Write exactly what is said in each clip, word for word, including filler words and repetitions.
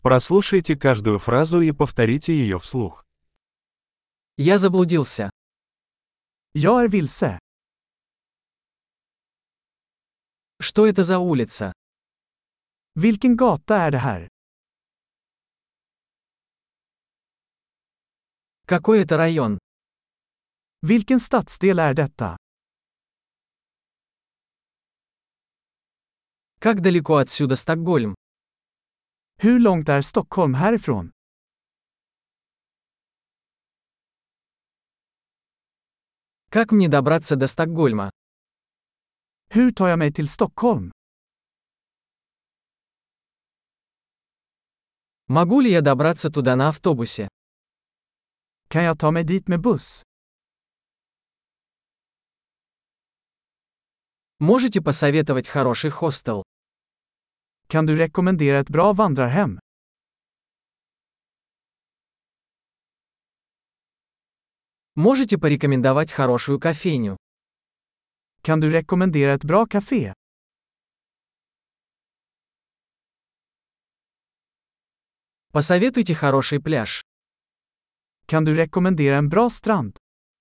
Прослушайте каждую фразу и повторите ее вслух. Я заблудился. Jag är vilse. Что это за улица? Vilken gata är det här? Какой это район? Vilken stadsdel är detta? Как далеко отсюда Стокгольм? Hur långt är Stockholm härifrån? Как мне добраться до Стокгольма? Hur tar jag mig till Stockholm? Могу ли я добраться туда на автобусе? Kan jag ta mig dit med buss? Можете посоветовать хороший хостел? Kan du rekommendera ett bra vandrarhem? Можете порекомендовать хорошую кофейню? Kan du rekommendera ett bra café? Посоветуйте хороший пляж. Kan du rekommendera en bra strand?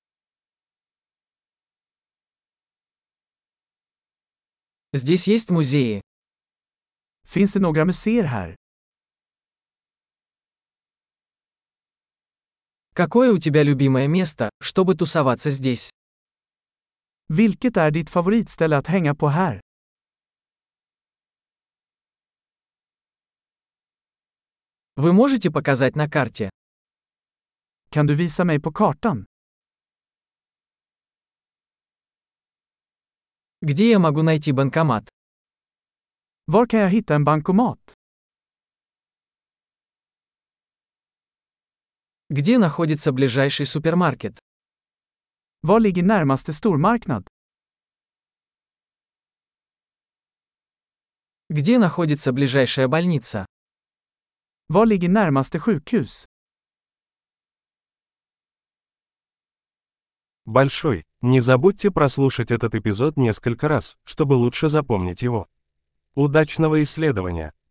Здесь есть музеи. Finns det några museer här? Какое у тебя любимое место, чтобы тусоваться здесь? Vilket är ditt favoritställe att hänga på här? Вы можете показать на карте? Kan du visa mig på kartan? Где я могу найти банкомат? Var kan jag hitta en bankomat? Где находится ближайший супермаркет? Var ligger närmaste stormarknad? Где находится ближайшая больница? Var ligger närmaste sjukhus? Большой. Не забудьте прослушать этот эпизод несколько раз, чтобы лучше запомнить его. Удачного исследования!